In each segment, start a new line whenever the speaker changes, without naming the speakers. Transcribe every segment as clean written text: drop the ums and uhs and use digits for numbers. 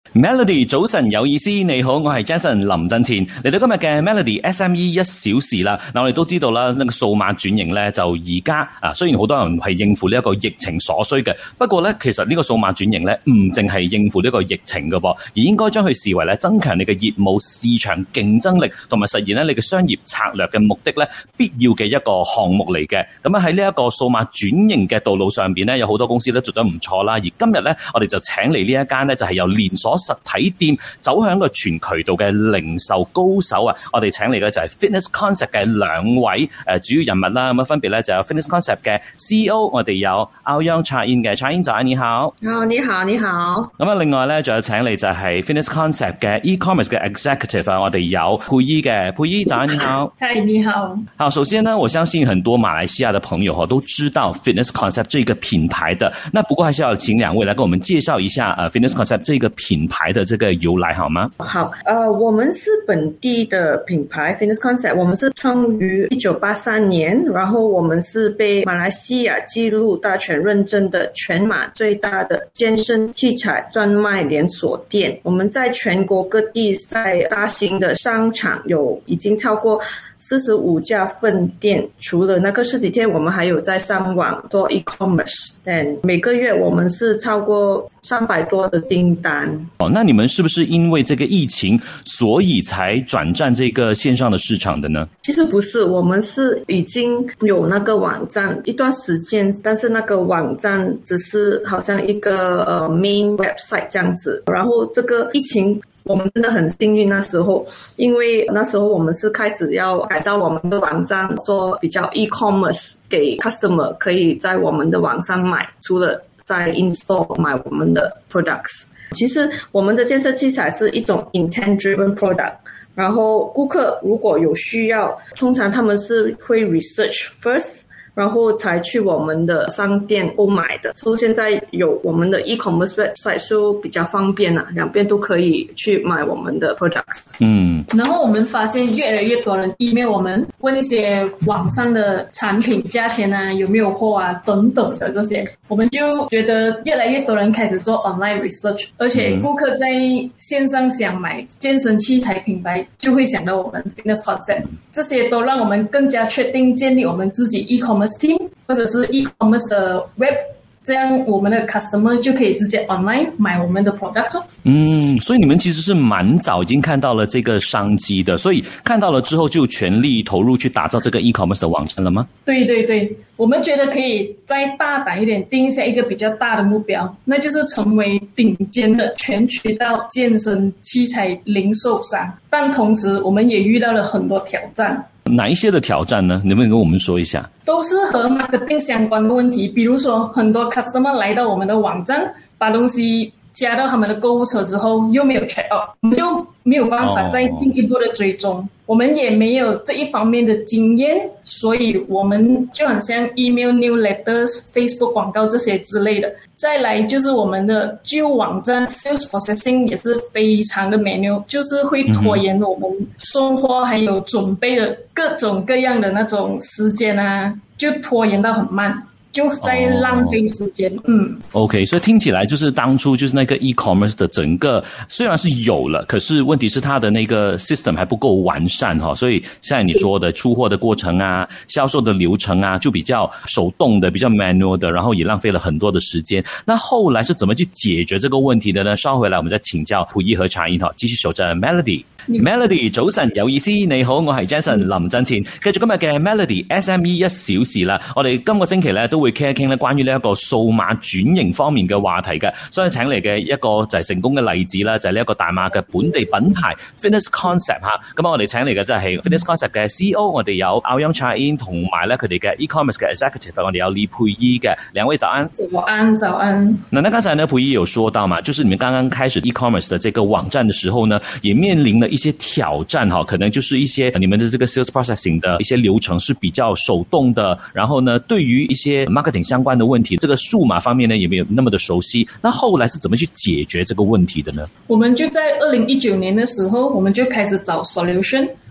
Melody 早晨有意思，你好，我係 Jason 林振前，嚟到今日嘅 Melody SME 一小時啦。嗱，我哋都知道啦，呢個數碼轉型咧，就而家雖然好多人係應付呢一個疫情所需嘅，不過咧，其實呢個數碼轉型咧，唔淨係應付呢個疫情嘅噃，而應該將佢視為咧增強你嘅業務市場競爭力，同埋實現咧你嘅商業策略嘅目的咧，必要嘅一個項目嚟嘅。咁喺呢一個數碼轉型嘅道路上邊咧，有好多公司都做得唔錯啦。而今日咧，我哋就請嚟呢一間咧，就係由連鎖實體店走向個全渠道嘅零售高手啊！我哋請嚟嘅就係 Fitness Concept 嘅兩位主要人物啦，咁分別咧就有 Fitness Concept 嘅 CEO， 我哋有 Aoyong Cha-in 嘅 Cha-in 早安，你好。
你好，你好。
咁另外咧仲有請嚟就係 Fitness Concept 嘅 E-commerce 嘅 Executive 我哋有佩姨嘅，佩姨早安，你好。
嗨，你好。
好，首先呢，我相信很多馬來西亞的朋友都知道 Fitness Concept 這個品牌的，那不過還是要請兩位來跟我們介紹一下Fitness Concept 這個品牌的這個由來好嗎？
好，我們是本地的品牌 Fitness Concept， 我們是創於1983年，然後我們是被馬來西亞紀錄大全認證的全馬最大的健身器材專賣連鎖店。我們在全國各地在大型的商場有已經超過45家分店，除了那個實體店，我們還有在上網做 e-commerce， 但每個月我們是超過300多的訂單。
那你們是不是因為這個疫情，所以才轉戰這個線上的市場的呢？
其實不是，我們是已經有那個網站一段時間，但是那個網站只是好像一個main website 這樣子，然後這個疫情我們真的很幸運那時候，因為那時候我們是開始要改造我們的網站，做比較 e-commerce， 給 customer 可以在我們的網上買，除了在 in-store 買我們的 products。其實我們的健身器材是一種 intent-driven product， 然後顧客如果有需要，通常他們是會 research first，然後才去我們的商店購買的。所以現在有我們的 e-commerce website 就比較方便啦，兩邊都可以去買我們的 products。
然後我們發現越來越多人 email 我們問一些網上的產品價錢啊，有沒有貨啊等等的這些，我們就覺得越來越多人開始做 online research， 而且顧客在線上想買健身器材品牌就會想到我們 Fitness Concept， 這些都讓我們更加確定建立我們自己 e-commerce team 或者是 e-commerce 的 web， 這樣我們的 customer 就可以直接 online 買我們的 product。
所以你們其實是蠻早已經看到了這個商機的，所以看到了之後就全力投入去打造這個 e-commerce 的網站了嗎？
對對對，我們覺得可以再大膽一點，定下一個比較大的目標，那就是成為頂尖的全渠道健身器材零售商。但同時我們也遇到了很多挑戰。
哪一些的挑戰呢？能不能跟我們說一下？
都是和 marketing 相關的問題，比如說很多 customer 來到我們的網站，把東西加到他們的購物車之後又沒有 check out， 我們就沒有辦法再進一步的追蹤，我們也沒有這一方面的經驗，所以我們就很像 email newsletters、Facebook 廣告這些之類的。再來就是我們的舊網站 sales processing 也是非常的 manual， 就是會拖延我們送貨還有準備的各種各樣的那種時間啊，就拖延到很慢，就在浪費時間。
OK， 所以聽起來就是當初就是那個 e-commerce 的整個雖然是有了，可是問題是它的那個 system 還不夠完善哈，所以像你說的出貨的過程啊，銷售的流程啊，就比較手動的，比較 manual 的，然後也浪費了很多的時間。那後來是怎麼去解決這個問題的呢？稍回來我們再請教佩姨和Cha-in哈，繼續守着 Melody。Melody 早晨有意思，你好，我係 Jason 林振前，繼續今日嘅 Melody SME 一小時啦。我哋今個星期咧都會傾一傾咧關於呢一個數碼轉型方面嘅話題嘅，所以請嚟嘅一個就係成功嘅例子啦，就係呢一個大馬嘅本地品牌 Fitness Concept 吓。咁我哋請嚟嘅就係 Fitness Concept 嘅 CEO， 我哋有 Aoyong Cha-in 同埋咧佢哋嘅 e-commerce 嘅 executive， 我哋有李佩姨嘅，兩位早安。
早安。那
剛才呢佩姨有說到嘛，就是你們剛剛開始 e-commerce 的這個網站的時候呢，也面臨了一些挑戰哈，可能就是一些你們的這個 sales processing 的一些流程是比較手動的，然後呢，對於一些 marketing 相關的問題，這個數碼方面呢也沒有那麼的熟悉。那後來是怎麼去解決這個問題的呢？
我們就在2019年的時候，我們就開始找 solution。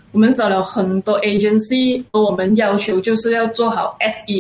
我们找了很多 agency， 我们要求就是要做好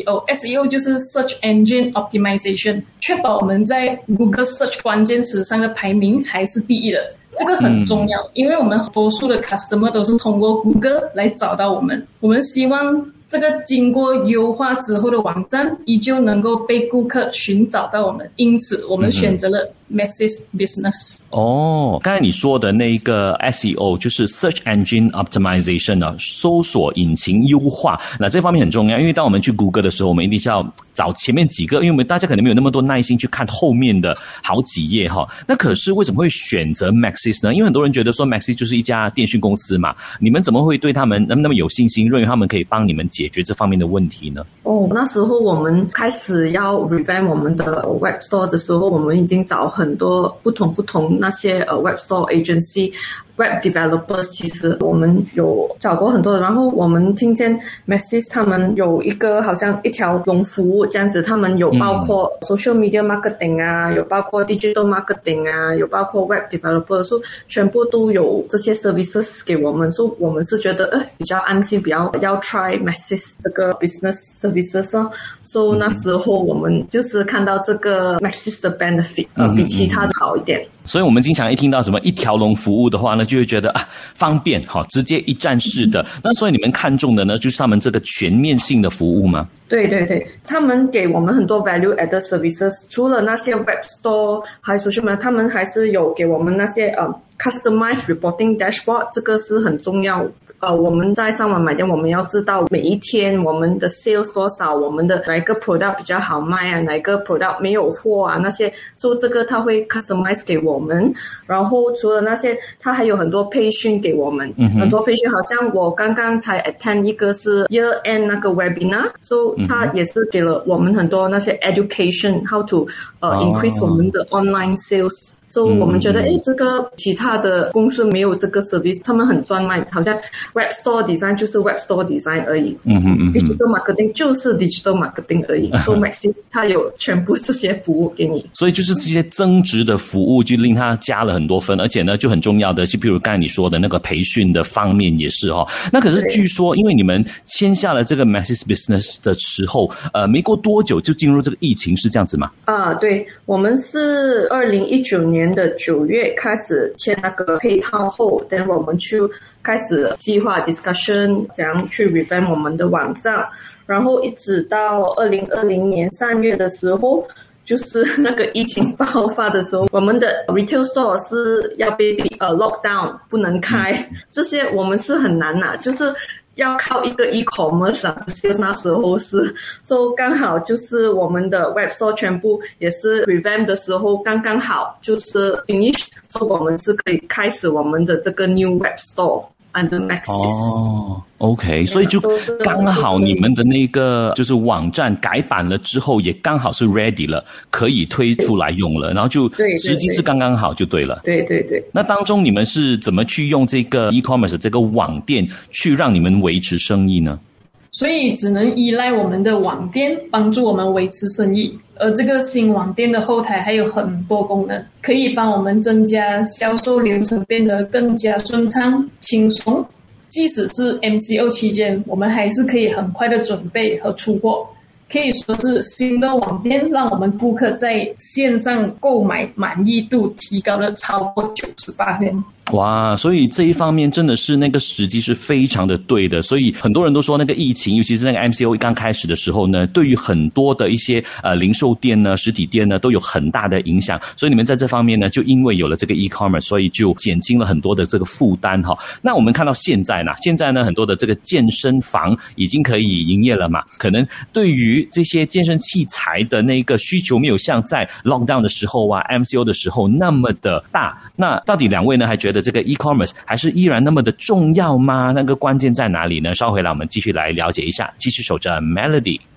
SEO 就是 Search Engine Optimization， 确保我们在 Google Search 关键词上的排名还是第一的。这个很重要，因为我们多数的 customer 都是通过 Google 来找到我们，我们希望这个经过优化之后的网站依旧能够被顾客寻找到我们，因此我们选择了 Maxis Business。
刚才你说的那个 SEO 就是 Search Engine Optimization 啊，搜索引擎优化。那这方面很重要，因为当我们去 Google 的时候，我们一定是要找前面几个，因为我们大家可能没有那么多耐心去看后面的好几页哈。那可是为什么会选择 Maxis 呢？因为很多人觉得说 Maxis 就是一家电讯公司嘛，你们怎么会对他们那么有信心，认为他们可以帮你们解决这方面的问题呢？
那时候我们开始要 revamp 我们的 web store 的时候，我们已经找很多不同那些web store agency。Web developers 其实我们有找过很多的，然后我们听见 Maxis 他们有一个好像一条龙服务这样子，他们有包括 social media marketing 啊，有包括 digital marketing 啊，有包括 web developers， 所以全部都有这些 services 给我们，所以我们是觉得比较安心，比较要 try Maxis 这个 business services 哦。所以那时候我们就是看到这个 Maxis 的 benefit 比其他的好一点。
所以我们经常一听到什么一条龙服务的话呢，就会觉得方便，直接一站式的。那所以你们看重的呢，就是他们这个全面性的服务吗？
对，他们给我们很多 value added services， 除了那些 web store 还有 social media， 他们还是有给我们那些customized reporting dashboard， 这个是很重要。我们在上网买店，我们要知道每一天我们的 sales 多少，我们的哪一个 product 比较好卖啊，哪一个 product 没有货啊，那些，所以这个他会 customize 给我们。然后除了那些，他还有很多培训给我们，很多培训，好像我刚刚才 attend 一个是 year end 那个 webinar， 所以他也是给了我们很多那些 education how to increase 我们的 online sales。所以我们觉得这个其他的公司没有这个 service， 他们很专卖，好像 web store design 就是 web store design 而已，digital marketing 就是 digital marketing 而已。所以 Maxis 它有全部这些服务给你，
所以就是这些增值的服务就令它加了很多分，而且呢就很重要的，就比如刚才你说的那个培训的方面也是那可是据说因为你们签下了这个 Maxis Business 的时候，没过多久就进入这个疫情，是这样子吗？
对，我们是2019年的9月开始签那个配套后，等我们去开始计划 discussion 怎样去 revamp 我们的网站，然后一直到2020年3月的时候，就是那个疫情爆发的时候，我们的 retail store 是要被lock down 不能开，这些我们是很难就是要靠一个 e-commerce sales， 那时候是刚好就是我们的 web store 全部也是 revamp 的时候刚刚好就是 finish， 我们是可以开始我们的这个 new web store under Maxis。
OK， 所以就刚好你们的那个就是网站改版了之后，也刚好是 ready 了，可以推出来用了，然后就时机是刚刚好就对了。
对。
那当中你们是怎么去用这个 e-commerce 这个网店去让你们维持生意呢？
所以只能依赖我们的网店帮助我们维持生意，而这个新网店的后台还有很多功能，可以帮我们增加销售流程变得更加顺畅轻松。即使是 MCO 期间，我们还是可以很快的准备和出货。可以说是新的网店让我们顾客在线上购买满意度提高了超过 98%。
哇，所以这一方面真的是那个时机是非常的对的，所以很多人都说那个疫情，尤其是那个 MCO 刚开始的时候呢，对于很多的一些零售店呢、实体店呢都有很大的影响，所以你们在这方面呢，就因为有了这个 e-commerce， 所以就减轻了很多的这个负担那我们看到现在呢，很多的这个健身房已经可以营业了嘛，可能对于这些健身器材的那个需求没有像在 lockdown 的时候MCO 的时候那么的大。那到底两位呢还觉得这个 e-commerce 还是依然那么的重要吗？那个关键在哪里呢？稍回来我们继续来了解一下，继续守着 Melody。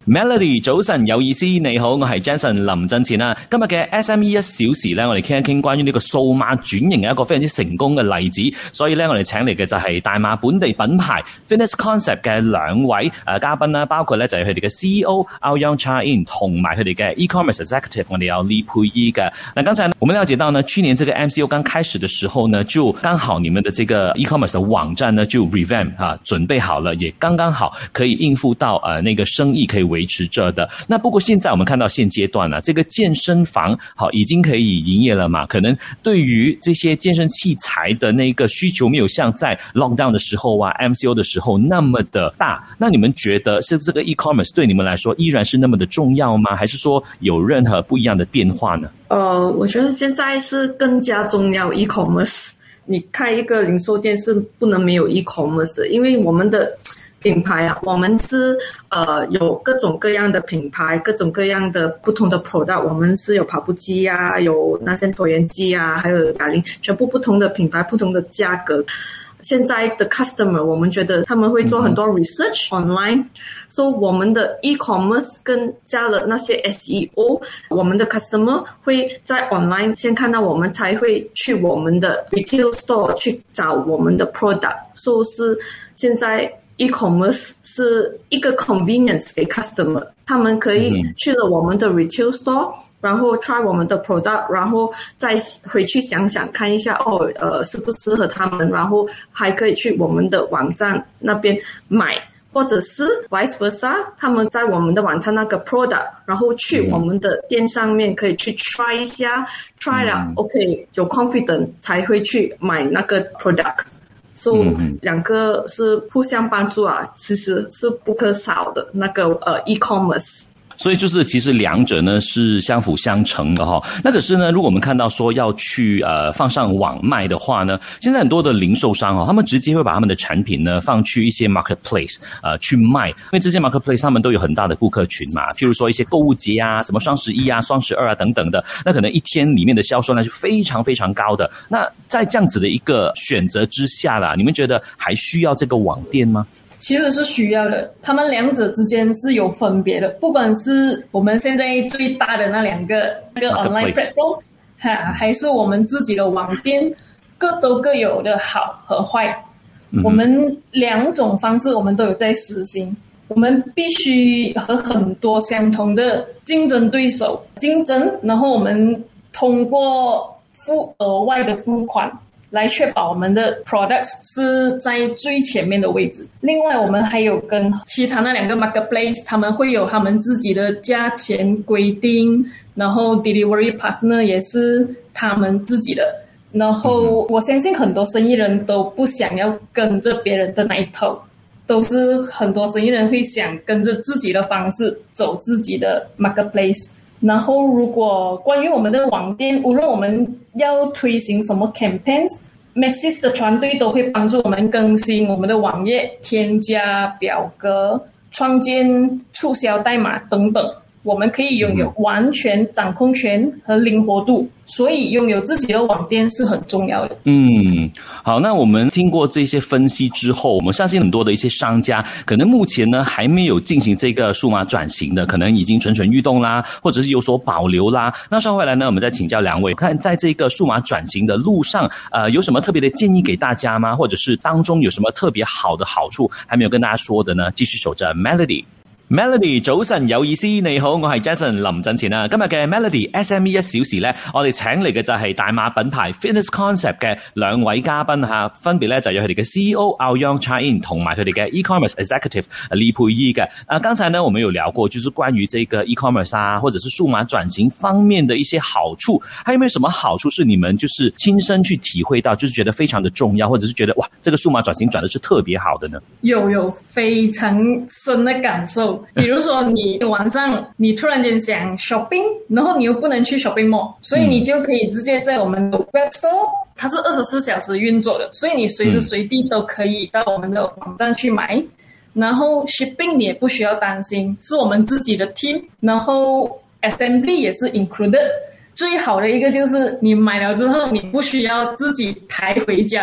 Melody 早晨有意思，你好，我係 Jason 林振前啊。今日嘅 SME 1小時咧，我哋傾一傾關於呢個數碼轉型嘅一個非常之成功嘅例子。所以咧，我哋請嚟嘅就係大馬本地品牌 Fitness Concept 嘅兩位嘉賓啦，包括咧就係佢哋嘅 CEO Aoyong Cha In 同埋佢哋嘅 E-commerce Executive 我哋有李佩儀嘅。那剛才我們了解到呢，去年這個 MCO 剛開始的時候呢，就剛好你們的這個 E-commerce 的網站呢就 revamp 準備好了，也剛剛好可以應付到那個生意可以維持着的。那不過現在我們看到現階段呢，這個健身房好已經可以營業了嘛，可能對於這些健身器材的那個需求沒有像在 lockdown 的時候啊 MCO 的時候那麼的大。那你們覺得是這個 e-commerce 對你們來說依然是那麼的重要嗎？還是說有任何不一樣的變化呢？
我覺得現在是更加重要 e-commerce。你開一個零售店是不能沒有 e-commerce， 因為我們的品牌啊，我們是有各種各樣的品牌，各種各樣的不同的 product， 我們是有跑步機啊，有那些椭圓機啊，還有啞鈴，全部不同的品牌，不同的價格。現在的 customer 我們覺得他們會做很多 research online， 所以我們的 e-commerce 更加了那些 SEO， 我們的 customer 會在 online 先看到我們才會去我們的 retail store 去找我們的 product， 所以是現在e-commerce 是一個 convenience 給 customer， 他們可以去了我們的 retail store， 然後 try 我們的 product， 然後再回去想想看一下適不適合他們，然後還可以去我們的網站那邊買，或者是 vice versa， 他們在我們的網站那個 product， 然後去我們的店上面可以去 try 一下，try 了 OK 有 confidence 才會去買那個 product。所以兩個是互相幫助啊，其實是不可少的那個e-commerce。
所以就是其實兩者呢是相輔相成的哈。那可是呢，如果我們看到說要去放上網賣的話呢，現在很多的零售商他們直接會把他們的產品呢放去一些 marketplace 去賣，因為這些 marketplace 他們都有很大的顧客群嘛，譬如說一些購物節啊，什麼雙11啊、雙12啊等等的，那可能一天裡面的銷售量是非常非常高的。那在這樣子的一個選擇之下啦，你們覺得還需要這個網店嗎？
其實是需要的，他們兩者之間是有分別的，不管是我們現在最大的那兩個online platform， 還是我們自己的網店，都各有的好和壞。我們兩種方式我們都有在實行，我們必須和很多相同的競爭對手競爭，然後我們通過付額外的付款來確保我們的 products 是在最前面的位置。另外我們還有跟其他那兩個 marketplace， 他們會有他們自己的價錢規定，然後 delivery partner 也是他們自己的。然後我相信很多生意人都不想要跟着別人的那一套，都是很多生意人會想跟着自己的方式走自己的 marketplace。然後如果關於我們的網店，無論我們要推行什麼 campaigns，Maxis 的團隊都會幫助我們更新我們的網頁，添加表格，創建促銷代碼等等，我們可以擁有完全掌控權和靈活度，所以擁有自己的網店是很重要的。
好，那我們聽過這些分析之後，我們相信很多的一些商家可能目前呢還沒有進行這個數碼轉型的，可能已經蠢蠢欲動啦，或者是有所保留啦。那稍後回來呢，我們再請教兩位，看在這個數碼轉型的路上有什麼特別的建議給大家嗎？或者是當中有什麼特別好的好處還沒有跟大家說的呢？繼續守着 Melody。Melody 早晨有意思，你好，我係 Jason 林振前啊。今日嘅 Melody SME 1小時咧，我哋請嚟嘅就係大馬品牌 Fitness Concept 嘅兩位嘉賓吓，分別咧就有佢哋嘅 CEO Aoyong Cha In 同埋佢哋嘅 E-commerce Executive 李佩儀嘅。剛才呢我們有聊過，就是關於這個 E-commerce 啊，或者是數碼轉型方面的一些好處，還有沒有什麼好處是你們就是親身去體會到，就是覺得非常的重要，或者是覺得哇，這個數碼轉型轉的是特別好的呢？
有非常深的感受。比如說你晚上你突然間想 shopping， 然後你又不能去 shopping mall， 所以你就可以直接在我們的 web store， 它是24小時運作的，所以你隨時隨地都可以到我們的網站去買。然後 shipping 你也不需要擔心，是我們自己的 team， 然後 assembly 也是 included。最好的一個就是你買了之後你不需要自己抬回家裡，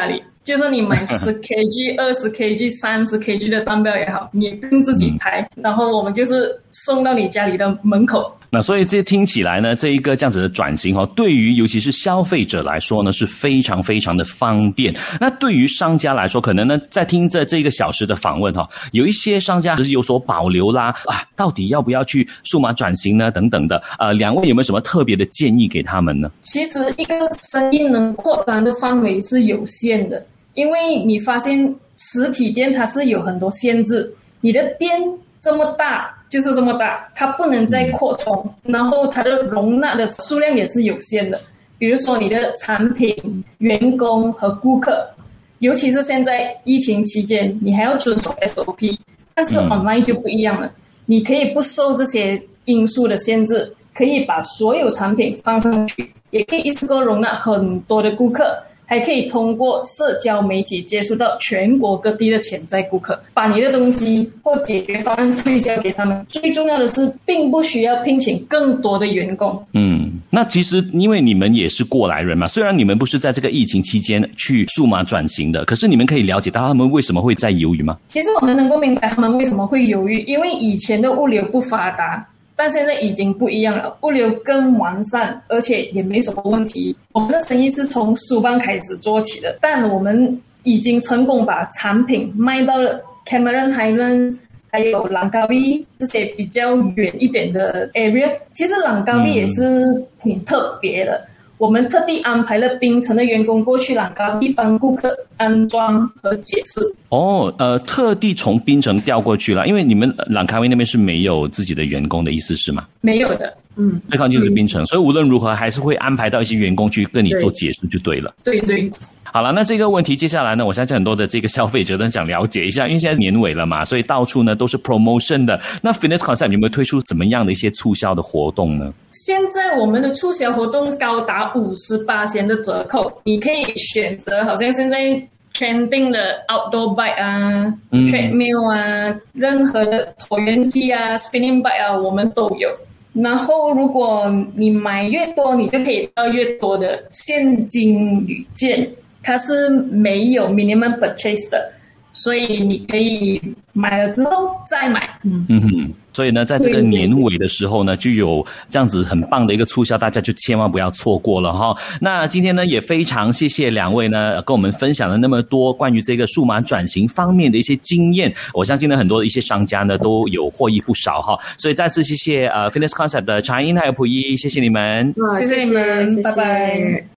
就是你买10kg、20kg、30kg 的蛋糕也好，你也不用自己抬，然后我们就是送到你家里的门口。
那所以这听起来呢，这一个这样子的转型对于尤其是消费者来说呢，是非常非常的方便。那对于商家来说，可能呢在听着这1个小时的访问有一些商家是有所保留啦，到底要不要去数码转型呢？等等的。两位有没有什么特别的建议给他们呢？其
实一个生意能扩展的范围是有限的，因为你发现实体店它是有很多限制，你的店这么大就是这么大，它不能再扩充，然后它的容纳的数量也是有限的。比如说你的产品、员工和顾客，尤其是现在疫情期间，你还要遵守 SOP， 但是 online 就不一样了，你可以不受这些因素的限制，可以把所有产品放上去，也可以一次过容纳很多的顾客，还可以通过社交媒体接触到全国各地的潜在顾客，把你的东西或解决方案推销给他们。最重要的是，并不需要聘请更多的员工。
那其实因为你们也是过来人嘛，虽然你们不是在这个疫情期间去数码转型的，可是你们可以了解到他们为什么会在犹豫吗？
其实我们能够明白他们为什么会犹豫，因为以前的物流不发达，但现在已经不一样了，物流更完善，而且也没什么问题。我们的生意是从书班开始做起的，但我们已经成功把产品卖到了 Cameron Highlands 还有朗高威这些比较远一点的 area。 其实朗高威也是挺特别的，我们特地安排了槟城的员工过去朗高威帮顾客安装和解释。
特地从槟城调过去了，因为你们朗高威那边是没有自己的员工的意思是吗？
没有的。
最靠近就是槟城，所以无论如何还是会安排到一些员工去跟你做解释就对了。
对。
好了，那这个问题接下来呢，我相信很多的这个消费者都想了解一下，因为现在年尾了嘛，所以到处呢都是 promotion 的。那 Fitness Concept 有没有推出怎么样的一些促销的活动呢？
现在我们的促销活动高达50% 的折扣，你可以选择好像现在 trending 的 outdoor bike 啊、treadmill 啊，任何的椭圆机啊、spinning bike 啊，我们都有。然后如果你买越多，你就可以得到越多的现金旅券，它是没有 minimum purchase 的，所以你可以买了之后再买。
所以呢，在这个年尾的时候呢，就有这样子很棒的一个促销，大家就千万不要错过了哈。那今天呢，也非常谢谢两位呢，跟我们分享了那么多关于这个数码转型方面的一些经验。我相信呢，很多的一些商家呢都有获益不少哈。所以再次谢谢Fitness Concept 的查英还有溥仪，谢谢你们，
谢谢你们，拜拜。